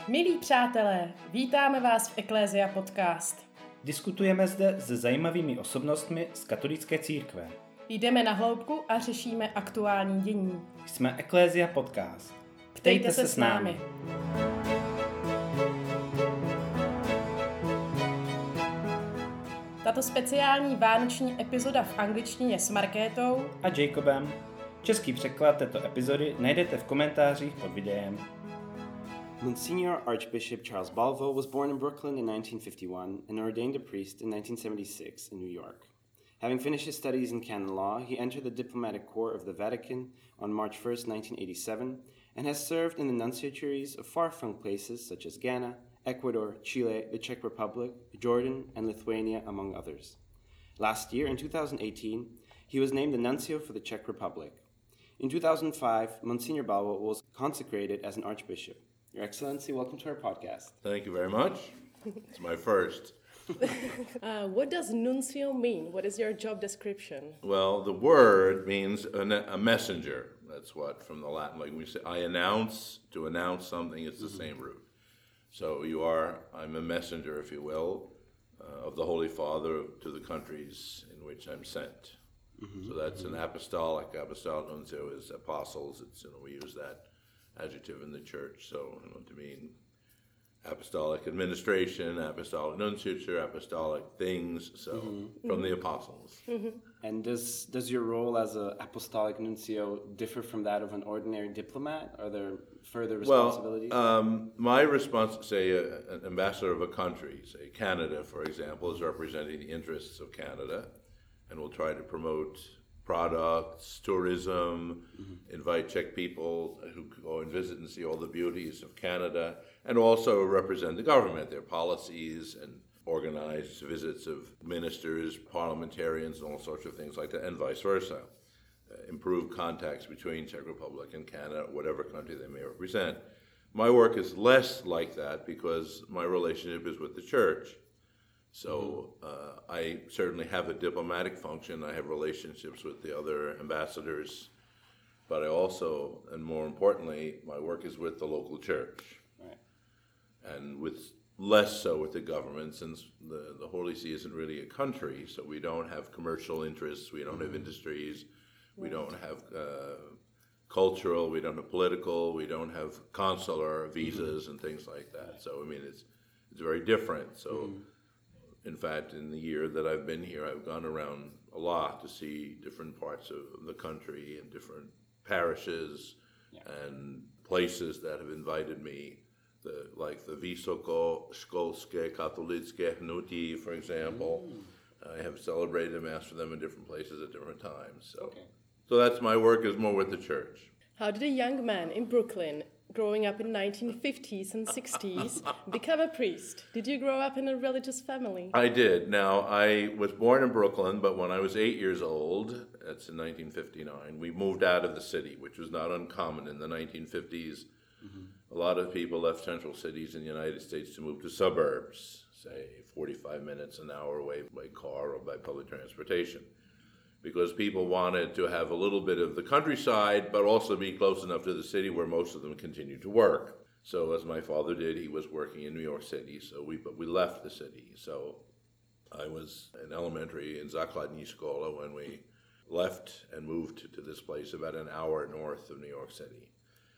Milí přátelé, vítáme vás v Ecclesia Podcast. Diskutujeme zde se zajímavými osobnostmi z katolické církve. Jdeme na hloubku a řešíme aktuální dění. Jsme Ecclesia Podcast. Ptejte se s námi. Tato speciální vánoční epizoda v angličtině s Markétou A Jacobem. Český překlad této epizody najdete v komentářích pod videem. Monsignor Archbishop Charles Balvo was born in Brooklyn in 1951 and ordained a priest in 1976 in New York. Having finished his studies in canon law, he entered the diplomatic corps of the Vatican on March 1st, 1987, and has served in the nunciaturies of far-flung places such as Ghana, Ecuador, Chile, the Czech Republic, Jordan, and Lithuania, among others. Last year, in 2018, he was named the nuncio for the Czech Republic. In 2005, Monsignor Balvo was consecrated as an archbishop. Your Excellency, welcome to our podcast. Thank you very much. It's my first. What does nuncio mean? What is your job description? Well, the word means a messenger. That's what, from the Latin, like we say, I announce, to announce something, it's the same root. So I'm a messenger, if you will, of the Holy Father to the countries in which I'm sent. So that's an apostolic nuncio is apostles. It's, we use that adjective in the church, so to mean apostolic administration, apostolic nunciature, apostolic things, so from the apostles. And does your role as an apostolic nuncio differ from that of an ordinary diplomat? Are there further responsibilities? Well, my response, say, an ambassador of a country, say Canada, for example, is representing the interests of Canada, and will try to promote products, tourism, invite Czech people who go and visit and see all the beauties of Canada, and also represent the government, their policies, and organize visits of ministers, parliamentarians, and all sorts of things like that, and vice versa. Improve contacts between Czech Republic and Canada, whatever country they may represent. My work is less like that because my relationship is with the church. So I certainly have a diplomatic function. I have relationships with the other ambassadors, but I also, and more importantly, my work is with the local church. Right. And with less so with the government, since the Holy See isn't really a country, so we don't have commercial interests, we don't have industries, we don't have cultural, we don't have political, we don't have consular visas and things like that. So, it's very different. So. In fact, in the year that I've been here, I've gone around a lot to see different parts of the country and different parishes and places that have invited me, like the Vysoko-školské katolické hnutí, for example. I have celebrated a Mass for them in different places at different times. So that's my work, is more with the church. How did a young man in Brooklyn, growing up in 1950s and 60s, become a priest? Did you grow up in a religious family? I did. Now, I was born in Brooklyn, but when I was 8 years old, that's in 1959, we moved out of the city, which was not uncommon in the 1950s. A lot of people left central cities in the United States to move to suburbs, say 45 minutes, an hour away by car or by public transportation, because people wanted to have a little bit of the countryside, but also be close enough to the city where most of them continued to work. So as my father did, he was working in New York City, so we left the city. So I was in elementary in základní škola when we left and moved to this place about an hour north of New York City.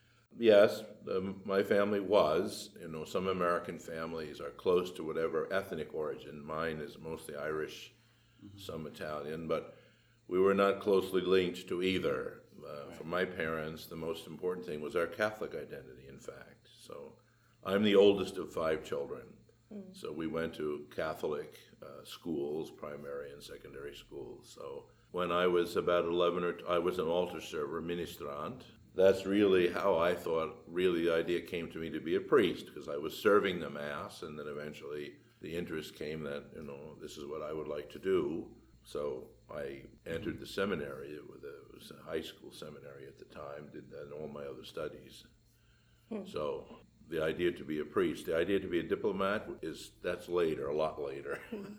Yes, my family was, some American families are close to whatever ethnic origin. Mine is mostly Irish, some Italian, but we were not closely linked to either. For my parents, the most important thing was our Catholic identity, in fact. So I'm the oldest of 5 children. So we went to Catholic schools, primary and secondary schools. So when I was about 11, I was an altar server, ministrant. That's really how I thought, the idea came to me to be a priest, because I was serving the Mass, and then eventually the interest came that, this is what I would like to do. So I entered the seminary. It was a high school seminary at the time, did that and all my other studies. So the idea to be a priest, the idea to be a diplomat, that's later, a lot later.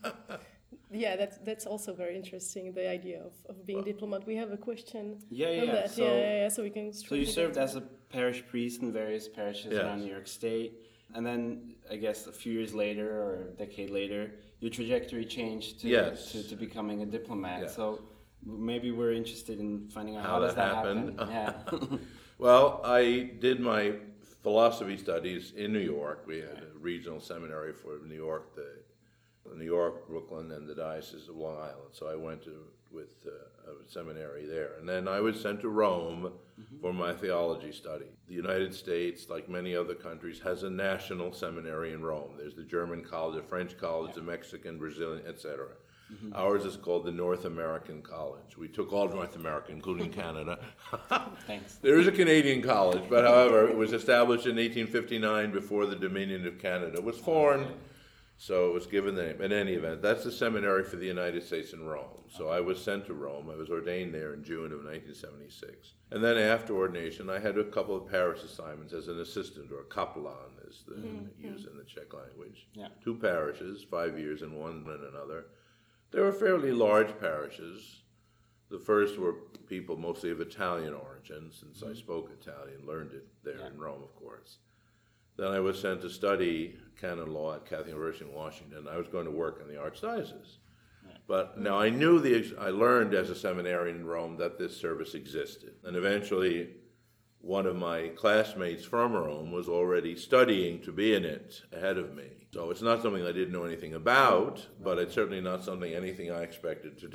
Yeah, that's also very interesting, the idea of being diplomat. We have a question on Yeah. that. So we can... So you served as a parish priest in various parishes around New York State. And then, I guess, a few years later or a decade later, your trajectory changed to, Yes. to becoming a diplomat. Yeah. So maybe we're interested in finding out How how does that that happened. happen. Yeah. Well, I did my philosophy studies in New York. We had a regional seminary for New York, New York, Brooklyn, and the Diocese of Long Island. So I went with a seminary there. And then I was sent to Rome for my theology study. The United States, like many other countries, has a national seminary in Rome. There's the German college, the French college, the Mexican, Brazilian, etc. Ours is called the North American College. We took all North America, including Canada. Thanks. There is a Canadian college, but however, it was established in 1859 before the Dominion of Canada was formed. So it was given the name. In any event, that's the seminary for the United States in Rome. So I was sent to Rome. I was ordained there in June of 1976. And then after ordination, I had a couple of parish assignments as an assistant, or kaplan is the used in the Czech language. Yeah. 2 parishes, 5 years in one and another. They were fairly large parishes. The first were people mostly of Italian origin, since I spoke Italian, learned it there in Rome, of course. Then I was sent to study canon law at Catholic University in Washington. I was going to work in the Archdiocese. But now I learned as a seminarian in Rome that this service existed. And eventually, one of my classmates from Rome was already studying to be in it ahead of me. So it's not something I didn't know anything about, but it's certainly not anything I expected to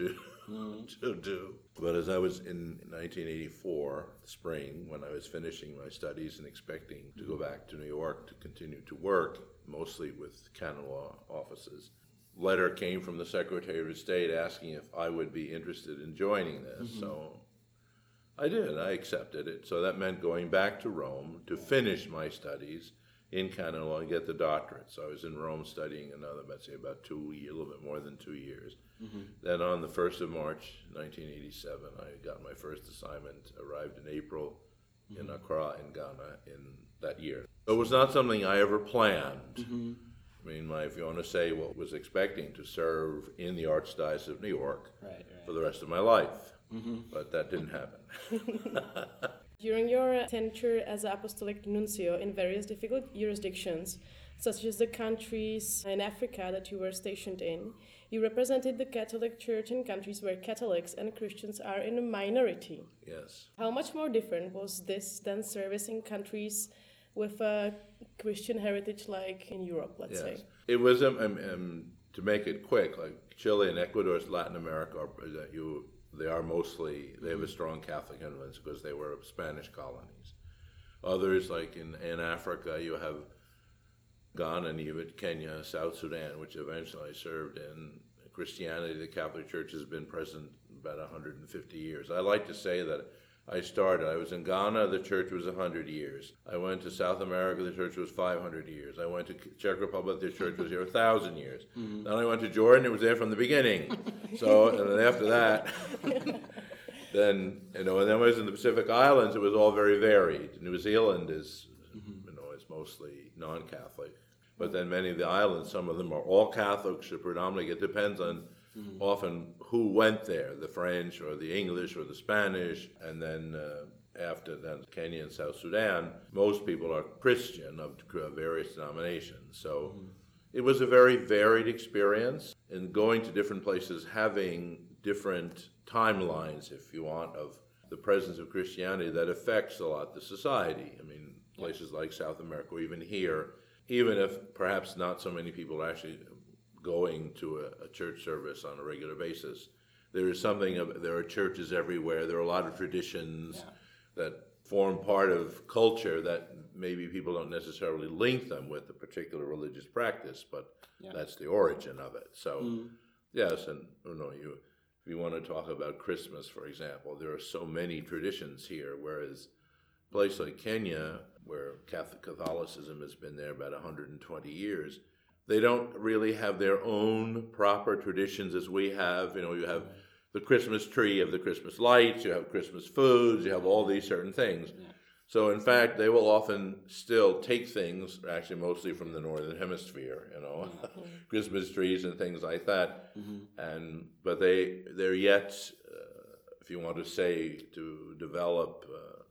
do. But as I was in 1984, spring, when I was finishing my studies and expecting to go back to New York to continue to work, mostly with canon law offices, letter came from the Secretary of State asking if I would be interested in joining this. So I did. I accepted it. So that meant going back to Rome to finish my studies in canon law and get the doctorate. So I was in Rome studying another, let's say, about 2 years, a little bit more than 2 years. Then on the 1st of March, 1987, I got my first assignment, arrived in April in Accra in Ghana in that year. It was not something I ever planned. I mean, if you want to say what was expecting to serve in the Archdiocese of New York for the rest of my life. But that didn't happen. During your tenure as apostolic nuncio in various difficult jurisdictions, such as the countries in Africa that you were stationed in, you represented the Catholic Church in countries where Catholics and Christians are in a minority. Yes. How much more different was this than service in countries with a Christian heritage like in Europe, let's say? It was, to make it quick, like Chile and Ecuador, Latin America, they have a strong Catholic influence because they were Spanish colonies. Others, like in Africa, you have Ghana and you have Kenya, South Sudan, which eventually served in Christianity. The Catholic Church has been present about 150 years. I like to say that I was in Ghana, the church was 100 years. I went to South America, the church was 500 years. I went to Czech Republic, the church was here 1,000 years. Then I went to Jordan, it was there from the beginning. So, and then after that, then and then I was in the Pacific Islands, it was all very varied. New Zealand is, is mostly non-Catholic. But then many of the islands, some of them are all Catholics, predominantly. It depends on often who went there, the French or the English or the Spanish, and then after then Kenya and South Sudan, most people are Christian of various denominations. So it was a very varied experience, and going to different places, having different timelines, if you want, of the presence of Christianity that affects a lot the society. I mean, places like South America, or even here, even if perhaps not so many people are actually going to a church service on a regular basis, there are churches everywhere. There are a lot of traditions that form part of culture that maybe people don't necessarily link them with a particular religious practice, but that's the origin of it. So, yes, and if you want to talk about Christmas, for example, there are so many traditions here, whereas a place like Kenya, where Catholicism has been there about 120 years, they don't really have their own proper traditions as we have. You have the Christmas tree, you have the Christmas lights, you have Christmas foods, you have all these certain things. So in fact, they will often still take things, actually mostly from the Northern Hemisphere, Christmas trees and things like that. But they're yet, if you want to say, to develop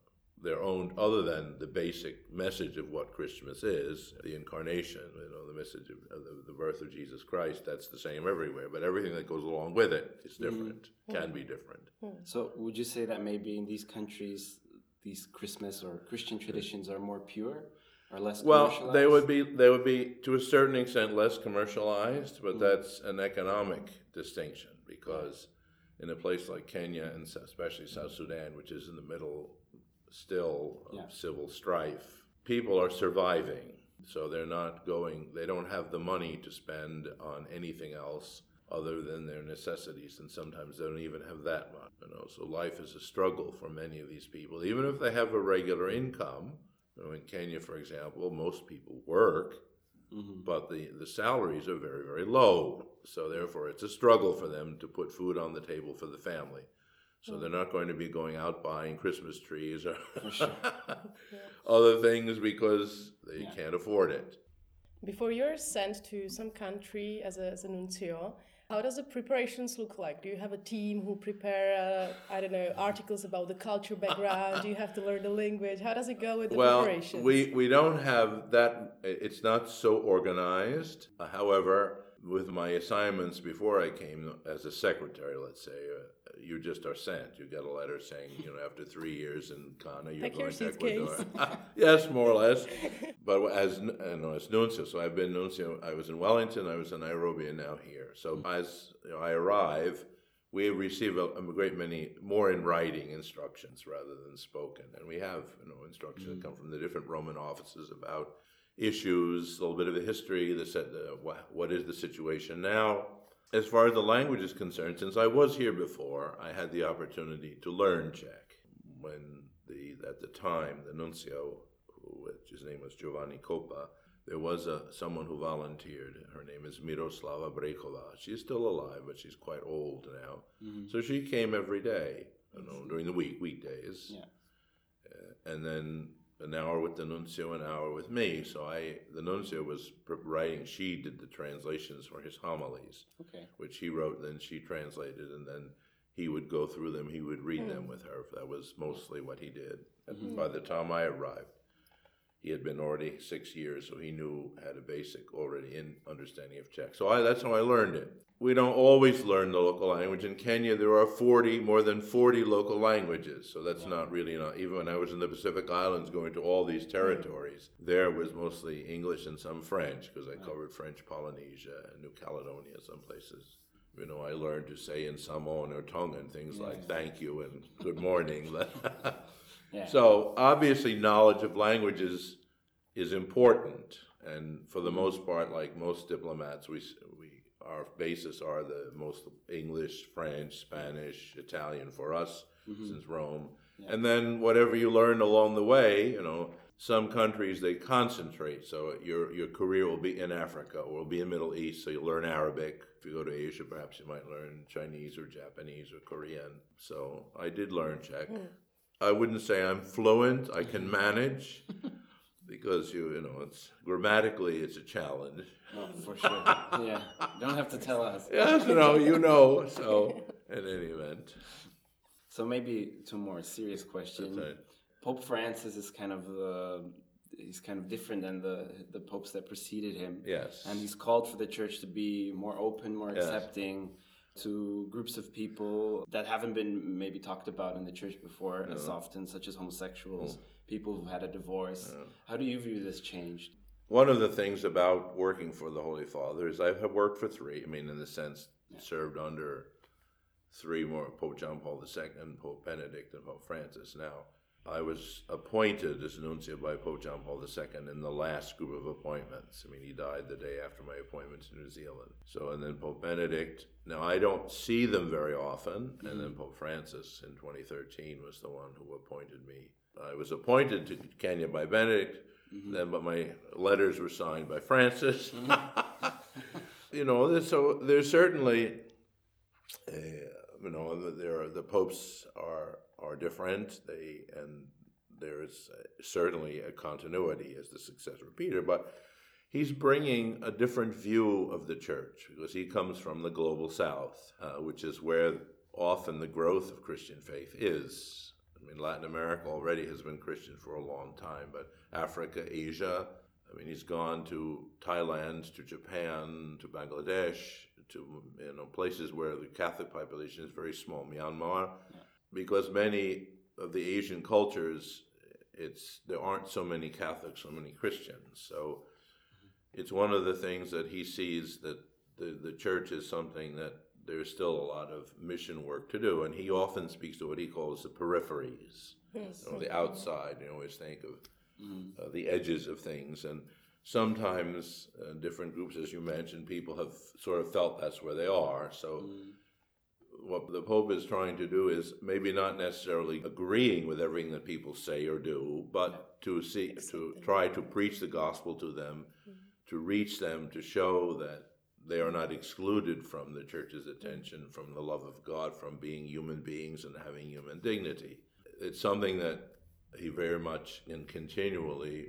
their own, other than the basic message of what Christmas is, the incarnation, the message of the birth of Jesus Christ, that's the same everywhere. But everything that goes along with it is different, can be different. So would you say that maybe in these countries, these Christmas or Christian traditions are more pure or less commercialized? Well, they would be to a certain extent less commercialized, but that's an economic distinction, because in a place like Kenya and especially South Sudan, which is in the middle still of civil strife, people are surviving. So they don't have the money to spend on anything else other than their necessities, and sometimes they don't even have that much. So life is a struggle for many of these people, even if they have a regular income. In Kenya, for example, most people work, but the salaries are very, very low. So therefore, it's a struggle for them to put food on the table for the family. So they're not going to be going out buying Christmas trees or other things because they can't afford it. Before you're sent to some country as a nuncio, how does the preparations look like? Do you have a team who prepare, articles about the culture background? Do you have to learn the language? How does it go with the preparations? We don't have that. It's not so organized. However, with my assignments before I came as a secretary, let's say, you just are sent. You get a letter saying, after 3 years in Ghana, you're going to Ecuador. Yes, more or less. But as nuncio, so I've been nuncio. I was in Wellington, I was in Nairobi, and now here. So as I arrive, we receive a great many more in writing instructions rather than spoken. And we have instructions that come from the different Roman offices about issues, a little bit of the history, what is the situation now. As far as the language is concerned, since I was here before, I had the opportunity to learn Czech. When at the time, the nuncio, his name was Giovanni Coppa, there was someone who volunteered. Her name is Miroslava Brekova. She's still alive, but she's quite old now. So she came every day, during the weekdays. Yeah. And then an hour with the nuncio, an hour with me. So the nuncio was writing. She did the translations for his homilies, which he wrote, then she translated, and then he would go through them. He would read them with her. That was mostly what he did. And by the time I arrived, he had been already 6 years, so he had a basic already understanding of Czech. So that's how I learned it. We don't always learn the local language. In Kenya, there are more than 40 local languages. So that's not even when I was in the Pacific Islands going to all these territories, there was mostly English and some French, because I covered French Polynesia and New Caledonia, some places. I learned to say in Samoan or Tongan things like thank you and good morning. So obviously knowledge of languages is important. And for the most part, like most diplomats, our basis are the most English, French, Spanish, Italian for us, since Rome. Yeah. And then whatever you learn along the way, some countries, they concentrate. So your career will be in Africa or will be in Middle East, so you'll learn Arabic. If you go to Asia, perhaps you might learn Chinese or Japanese or Korean. So I did learn Czech. I wouldn't say I'm fluent. I can manage. Because it's grammatically it's a challenge. Oh, for sure. Yeah, don't have to tell us. Yes, So in any event. So maybe to a more serious question. Right. Pope Francis is he's kind of different than the popes that preceded him. Yes. And he's called for the church to be more open, more accepting to groups of people that haven't been maybe talked about in the church before as often, such as homosexuals, people who've had a divorce. How do you view this change? One of the things about working for the Holy Father is I have worked for three. In the sense, served under three more, Pope John Paul II, Pope Benedict, and Pope Francis. Now, I was appointed as nuncio by Pope John Paul II in the last group of appointments. He died the day after my appointment to New Zealand. So, and then Pope Benedict. Now, I don't see them very often. And then Pope Francis in 2013 was the one who appointed me. I was appointed to Kenya by Benedict, but my letters were signed by Francis. So there's certainly, the popes are different. And there is certainly a continuity as the successor of Peter, but he's bringing a different view of the church because he comes from the global south, which is where often the growth of Christian faith is. I mean, Latin America already has been Christian for a long time, but Africa, Asia, I mean, he's gone to Thailand, to Japan, to Bangladesh, to places where the Catholic population is very small, Myanmar, because many of the Asian cultures, there aren't so many Catholics, so many Christians. So it's one of the things that he sees, that the church is something that there's still a lot of mission work to do, and he often speaks to what he calls the peripheries, the outside. You always think of the edges of things, and sometimes different groups, as you mentioned, people have sort of felt that's where they are. So what the Pope is trying to do is maybe not necessarily agreeing with everything that people say or do, but to try to preach the gospel to them, to reach them, to show that they are not excluded from the church's attention, from the love of God, from being human beings and having human dignity. It's something that he very much and continually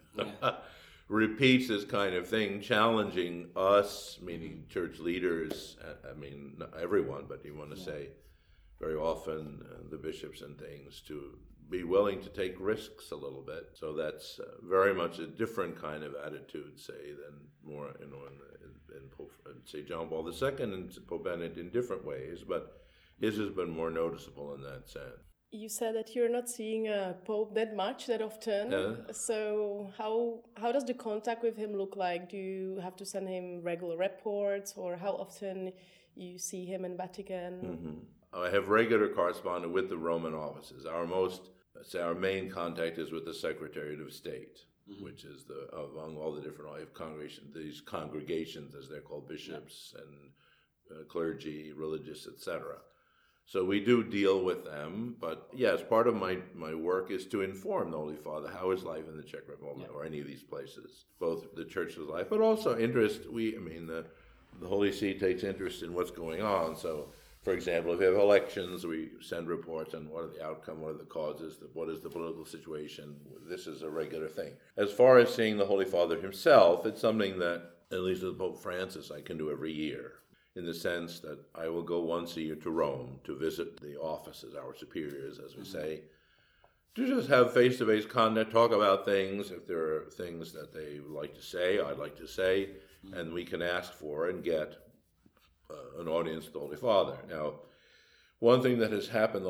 repeats this kind of thing, challenging us, meaning church leaders, I mean, not everyone, but you want to say very often the bishops and things, to be willing to take risks a little bit. So that's very much a different kind of attitude, say, than more, in Pope, say, John Paul II and Pope Benedict in different ways, but his has been more noticeable in that sense. You said that you're not seeing a Pope that often. So how does the contact with him look like? Do you have to send him regular reports, or how often you see him in Vatican? I have regular correspondence with the Roman offices. Our main contact is with the Secretariat of State, which is among all the different congregations, these congregations, as they're called, bishops and clergy, religious, etc. So we do deal with them, but yes, part of my work is to inform the Holy Father how is life in the Czech Republic or any of these places, both the Church's life, but also interest. The Holy See takes interest in what's going on. So, for example, if we have elections, we send reports on what are the outcome, what are the causes, what is the political situation. This is a regular thing. As far as seeing the Holy Father himself, it's something that, at least with Pope Francis, I can do every year, in the sense that I will go once a year to Rome to visit the offices, our superiors, as we say, to just have face-to-face contact, talk about things. If there are things that they would like to say, I'd like to say, and we can ask for and get an audience with the Holy Father. Now, one thing that has happened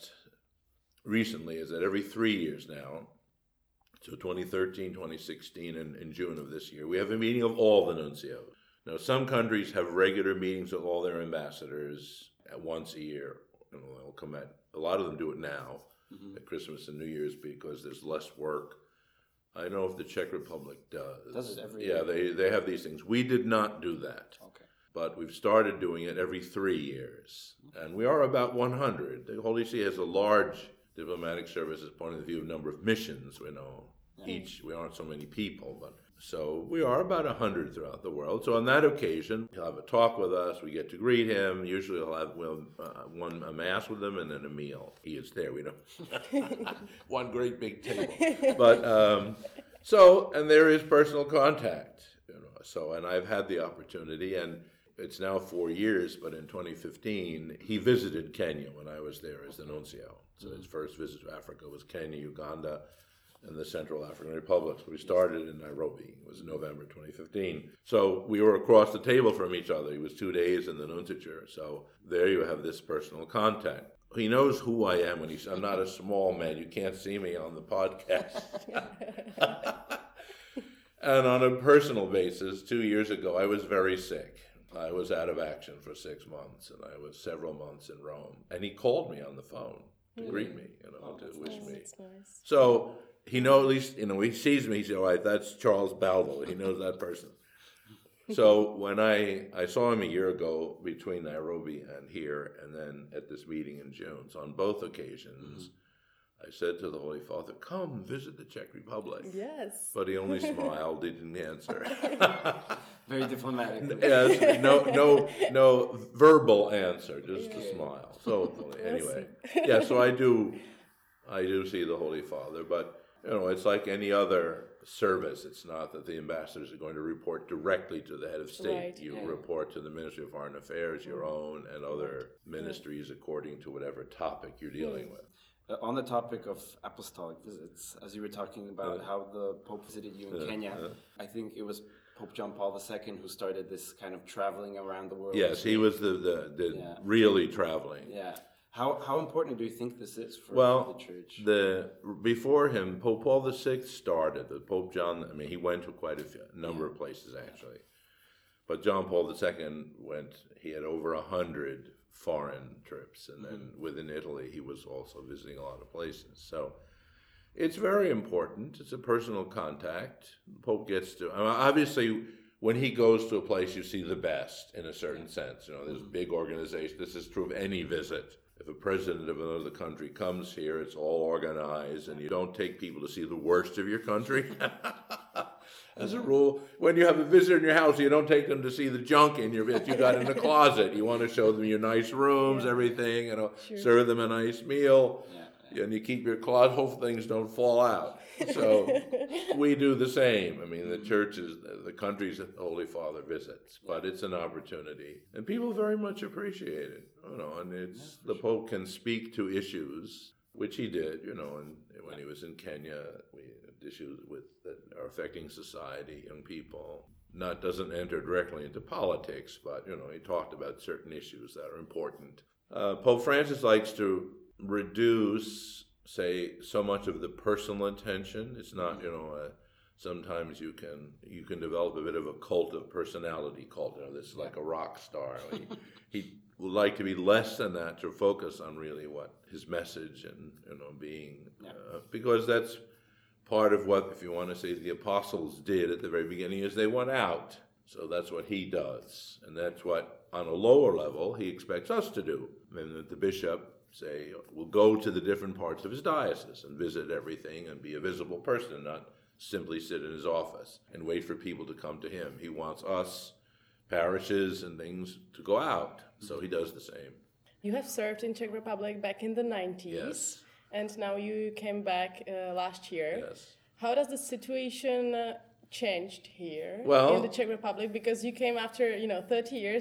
recently is that every 3 years now, so 2013, 2016, and in June of this year, we have a meeting of all the nuncios. Now, some countries have regular meetings with all their ambassadors at once a year. They'll come a lot of them do it now at Christmas and New Year's because there's less work. I don't know if the Czech Republic does. Does it every year? Yeah, they have these things. We did not do that. Okay. But we've started doing it every 3 years. And we are about 100. The Holy See has a large diplomatic service as point of view of number of missions, Each, we aren't so many people, but so we are about 100 throughout the world. So on that occasion, he'll have a talk with us. We get to greet him. Usually we'll have a mass with him and then a meal. He is there. We don't. One great big table. But and there is personal contact. So, and I've had the opportunity, and it's now 4 years, but in 2015, he visited Kenya when I was there as the nuncio. So his first visit to Africa was Kenya, Uganda, and the Central African Republic. We started in Nairobi. It was November 2015. So we were across the table from each other. He was 2 days in the nunciature. So there you have this personal contact. He knows who I am when I'm not a small man. You can't see me on the podcast. And on a personal basis, 2 years ago, I was very sick. I was out of action for 6 months, and I was several months in Rome. And he called me on the phone to greet me, to wish me. That's nice. So he knows, at least, he sees me, he says, all right, that's Charles Balvo. He knows that person. So when I saw him a year ago between Nairobi and here, and then at this meeting in June, so on both occasions, I said to the Holy Father, come visit the Czech Republic. Yes. But he only smiled, he didn't answer. Very diplomatic. Yes, no verbal answer, just a smile. So anyway, so I do see the Holy Father, but it's like any other service. It's not that the ambassadors are going to report directly to the head of state. Right. You report to the Ministry of Foreign Affairs, your own, and other ministries according to whatever topic you're dealing with. On the topic of apostolic visits, as you were talking about how the Pope visited you in Kenya, I think it was Pope John Paul II who started this kind of traveling around the world. Yes, he was the really traveling. Yeah. How important do you think this is for the church? Before him, Pope Paul VI started. The Pope John, I mean, he went to quite a number of places actually. But John Paul II he had over 100 foreign trips. And then within Italy, he was also visiting a lot of places. So it's very important. It's a personal contact. The Pope gets to, obviously, when he goes to a place, you see the best in a certain sense. There's big organizations. This is true of any visit. If a president of another country comes here, it's all organized, and you don't take people to see the worst of your country. As a rule, when you have a visitor in your house, you don't take them to see the junk in that you got in the closet. You want to show them your nice rooms, everything, serve them a nice meal, and you keep your closet, hope things don't fall out. So we do the same. I mean, the churches, the countries that the Holy Father visits, but it's an opportunity, and people very much appreciate it. And the Pope can speak to issues, which he did. And when he was in Kenya, we had issues that are affecting society, young people. Doesn't enter directly into politics, but he talked about certain issues that are important. Pope Francis likes to reduce, say, so much of the personal attention. It's not, sometimes you can develop a bit of a cult of personality cult. This is like a rock star. He would like to be less than that, to focus on really what his message and being, because that's part of what, if you want to say, the apostles did at the very beginning, is they went out. So that's what he does, and that's what, on a lower level, he expects us to do. And the bishop, say, will go to the different parts of his diocese and visit everything and be a visible person, and not simply sit in his office and wait for people to come to him. He wants us, parishes and things, to go out. So he does the same. You have served in Czech Republic back in the 90s. Yes. And now you came back last year. Yes. How does the situation changed here in the Czech Republic? Because you came after 30 years.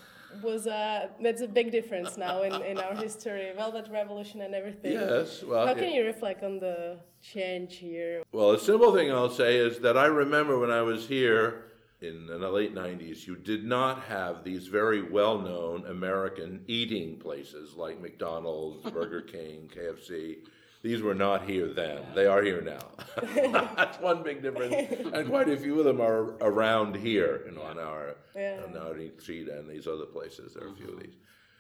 That's a big difference now in our history. Velvet Revolution and everything. Yes. Well, how can you reflect on the change here? Well, a simple thing I'll say is that I remember when I was here in the late 90s, you did not have these very well-known American eating places like McDonald's, Burger King, KFC. These were not here then. They are here now. That's one big difference. And quite a few of them are around here, on our street and these other places. There are a few of these.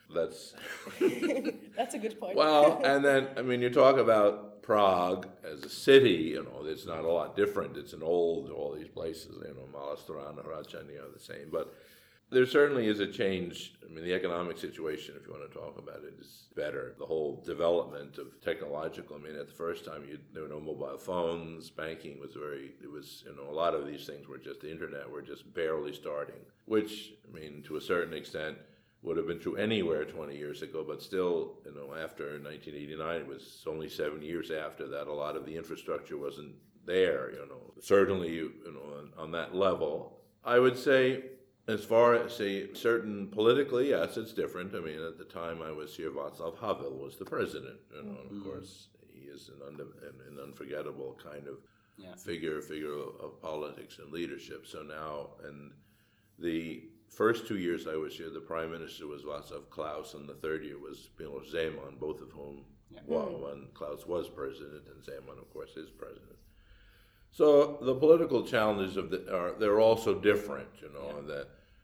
That's a good point. Well, and then, you talk about Prague as a city, it's not a lot different. It's all these places, Malá Strana, the same. But there certainly is a change. The economic situation, if you want to talk about it, is better. The whole development of technological, at the first time there were no mobile phones, banking was a lot of these things were just, the internet were just barely starting, which, to a certain extent, would have been true anywhere 20 years ago, but still, after 1989, it was only 7 years after that, a lot of the infrastructure wasn't there, Certainly, on that level. I would say, as far as, certain politically, yes, it's different. At the time I was here, Václav Havel was the president, and of course, he is an unforgettable kind of figure of politics and leadership. So now, and the first 2 years I was here, the prime minister was Václav Klaus, and the third year was Miloš Zeman, both of whom, one Klaus was president, and Zeman, of course, is president. So the political challenges they're also different, that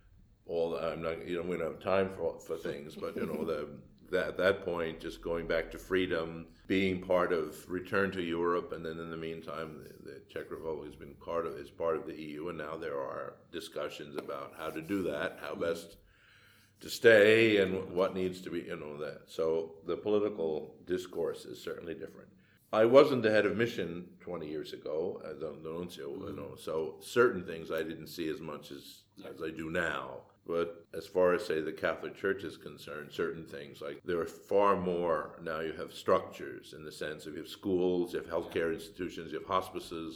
we don't have time for things, but at that point, just going back to freedom, being part of return to Europe, and then in the meantime, the Czech Republic has been part of the EU, and now there are discussions about how to do that, how best to stay, and what needs to be, that. So the political discourse is certainly different. I wasn't the head of mission 20 years ago as a nuncio, so certain things I didn't see as much as I do now. But as far as, say, the Catholic Church is concerned, certain things, like there are far more, now you have structures in the sense of you have schools, you have healthcare institutions, you have hospices,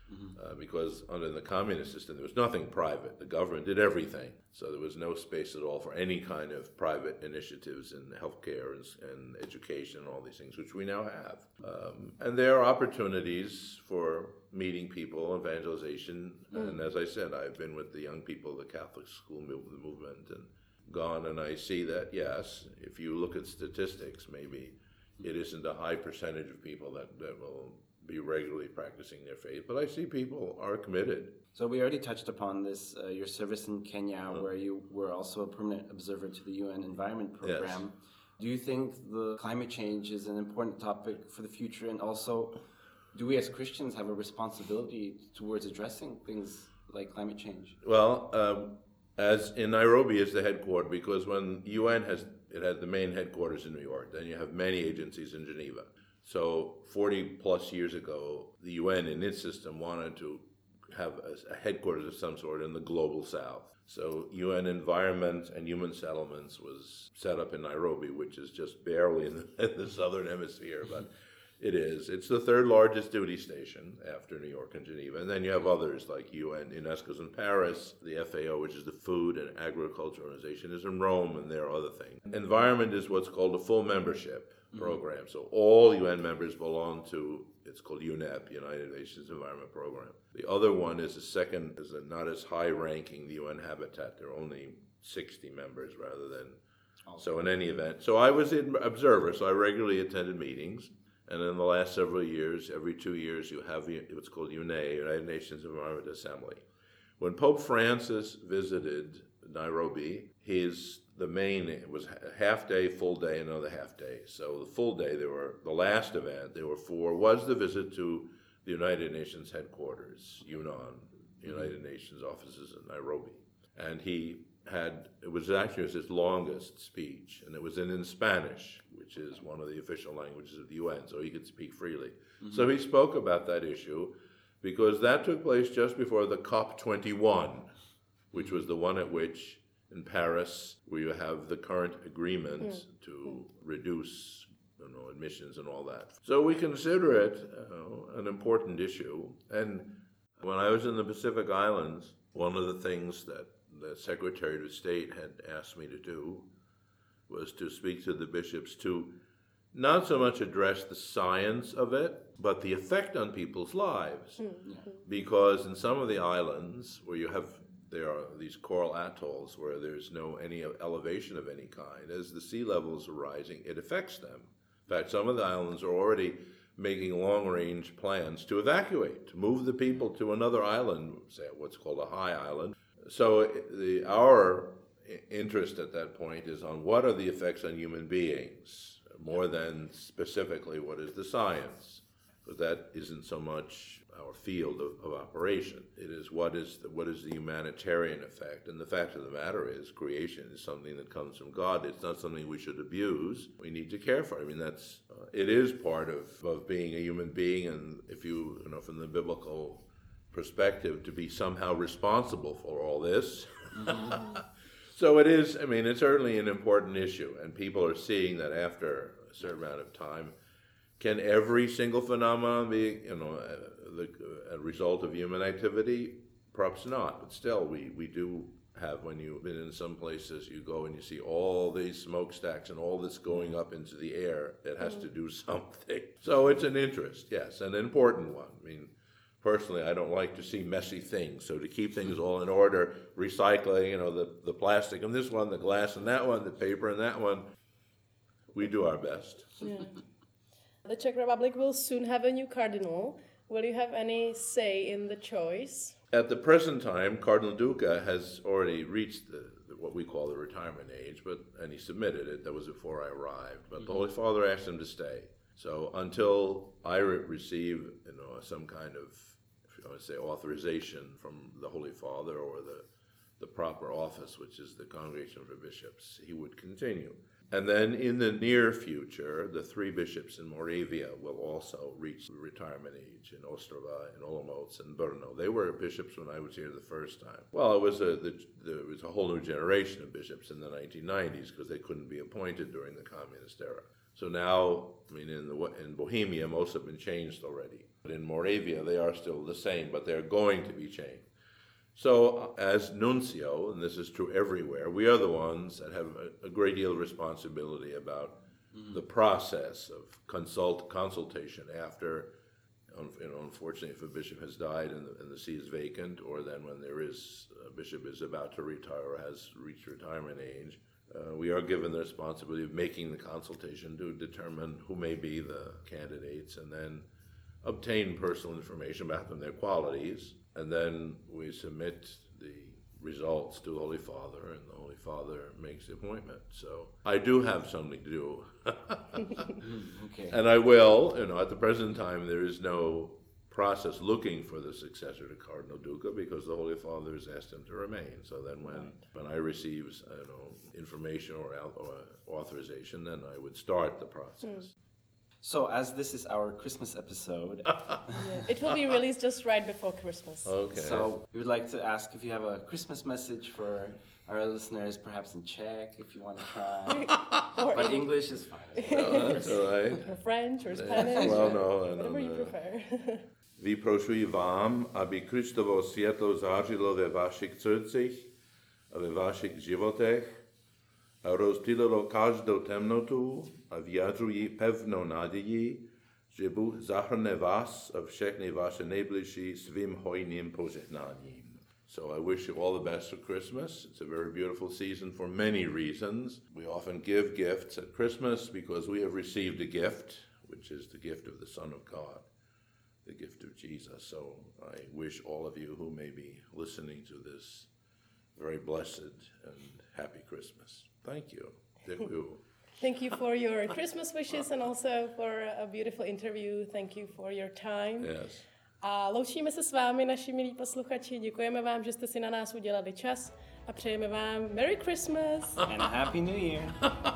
Because under the communist system, there was nothing private. The government did everything. So there was no space at all for any kind of private initiatives in healthcare and education and all these things, which we now have. And there are opportunities for meeting people, evangelization. And as I said, I've been with the young people of the Catholic school movement and gone, and I see that, yes, if you look at statistics, maybe it isn't a high percentage of people that will be regularly practicing their faith, but I see people are committed. So we already touched upon this, your service in Kenya, where you were also a permanent observer to the UN Environment Program. Yes. Do you think the climate change is an important topic for the future? And also, do we as Christians have a responsibility towards addressing things like climate change? Well, as in Nairobi is the headquarters, because when UN had the main headquarters in New York, then you have many agencies in Geneva. So 40 plus years ago, the UN in its system wanted to have a headquarters of some sort in the global south. So UN Environment and Human Settlements was set up in Nairobi, which is just barely in the southern hemisphere, but it is. It's the third largest duty station after New York and Geneva. And then you have others like UN, UNESCO's in Paris, the FAO, which is the Food and Agriculture Organization, is in Rome, and there are other things. Environment is what's called a full membership program. So all UN members belong to, it's called UNEP, United Nations Environment Program. The other one is not as high ranking, the UN Habitat. There are only 60 members rather than, so in any event. So I was an observer, so I regularly attended meetings. And in the last several years, every 2 years, you have what's called UNE, United Nations Environment Assembly. When Pope Francis visited Nairobi, it was a half day, full day, another half day. So the full day, the last event, was the visit to the United Nations headquarters, UNON, United Nations offices in Nairobi. And it was his longest speech, and it was in Spanish, which is one of the official languages of the UN, so he could speak freely. So he spoke about that issue, because that took place just before the COP21, which was the one at which, in Paris, where you have the current agreement to reduce emissions and all that. So we consider it an important issue. And when I was in the Pacific Islands, one of the things that the Secretary of State had asked me to do was to speak to the bishops to not so much address the science of it, but the effect on people's lives. Because in some of the islands where there are these coral atolls where there's any elevation of any kind, as the sea levels are rising, it affects them. In fact, some of the islands are already making long-range plans to evacuate, to move the people to another island, say what's called a high island. So our interest at that point is on what are the effects on human beings, more than specifically what is the science, because that isn't so much our field of operation. It is what is the humanitarian effect. And the fact of the matter is, creation is something that comes from God. It's not something we should abuse. We need to care for it. I mean, it is part of being a human being, and if from the biblical perspective, to be somehow responsible for all this. So it is, it's certainly an important issue, and people are seeing that after a certain amount of time. Can every single phenomenon be, a result of human activity? Perhaps not, but still, we do have, when you've been in some places, you go and you see all these smokestacks and all this going up into the air. It has to do something. So it's an interest, yes, an important one. Personally, I don't like to see messy things, so to keep things all in order, recycling, the plastic in this one, the glass in that one, the paper in that one, we do our best. Yeah. The Czech Republic will soon have a new cardinal. Will you have any say in the choice? At the present time, Cardinal Duca has already reached what we call the retirement age, and he submitted it. That was before I arrived. But the Holy Father asked him to stay. So until I receive, some kind of, authorization from the Holy Father or the proper office, which is the Congregation for Bishops, he would continue. And then in the near future, the 3 bishops in Moravia will also reach retirement age in Ostrava, in Olomouc, and Brno. They were bishops when I was here the first time. Well, there was a whole new generation of bishops in the 1990s because they couldn't be appointed during the communist era. So now, I mean, in Bohemia, most have been changed already. But in Moravia, they are still the same, but they're going to be changed. So as nuncio, and this is true everywhere, we are the ones that have a great deal of responsibility about the process of consultation after, unfortunately, if a bishop has died and the see is vacant, or then when a bishop is about to retire or has reached retirement age, we are given the responsibility of making the consultation to determine who may be the candidates and then obtain personal information about them, their qualities, and then we submit the results to the Holy Father, and the Holy Father makes the appointment. So I do have something to do. Okay. And I will, at the present time, there is no process looking for the successor to Cardinal Duca because the Holy Father has asked him to remain. So then when I receive information or authorization, then I would start the process. So, as this is our Christmas episode, It will be released just right before Christmas. Okay. So we would like to ask if you have a Christmas message for our listeners, perhaps in Czech, if you want to try. But English is fine. No, that's all right. Or French or Spanish. Well, no, whatever you prefer. Vyprošuji vám, aby Kristovo světlo zářilo ve vašich srdcích a ve vašich životech a rozptýlilo každou temnotu a vyjadřují pevnou naději, že Bůh zahrne vás a všechny vaše nejbližší svým hojným požehnáním. So I wish you all the best for Christmas. It's a very beautiful season for many reasons. We often give gifts at Christmas because we have received a gift, which is the gift of the Son of God, the gift of Jesus. So I wish all of you who may be listening to this very blessed and happy Christmas. Thank you. Thank you for your Christmas wishes and also for a beautiful interview. Thank you for your time. Yes. A loučíme se s vámi, naši milí posluchači. Děkujeme vám, že jste si na nás udělali čas a přejeme vám Merry Christmas And a Happy New Year.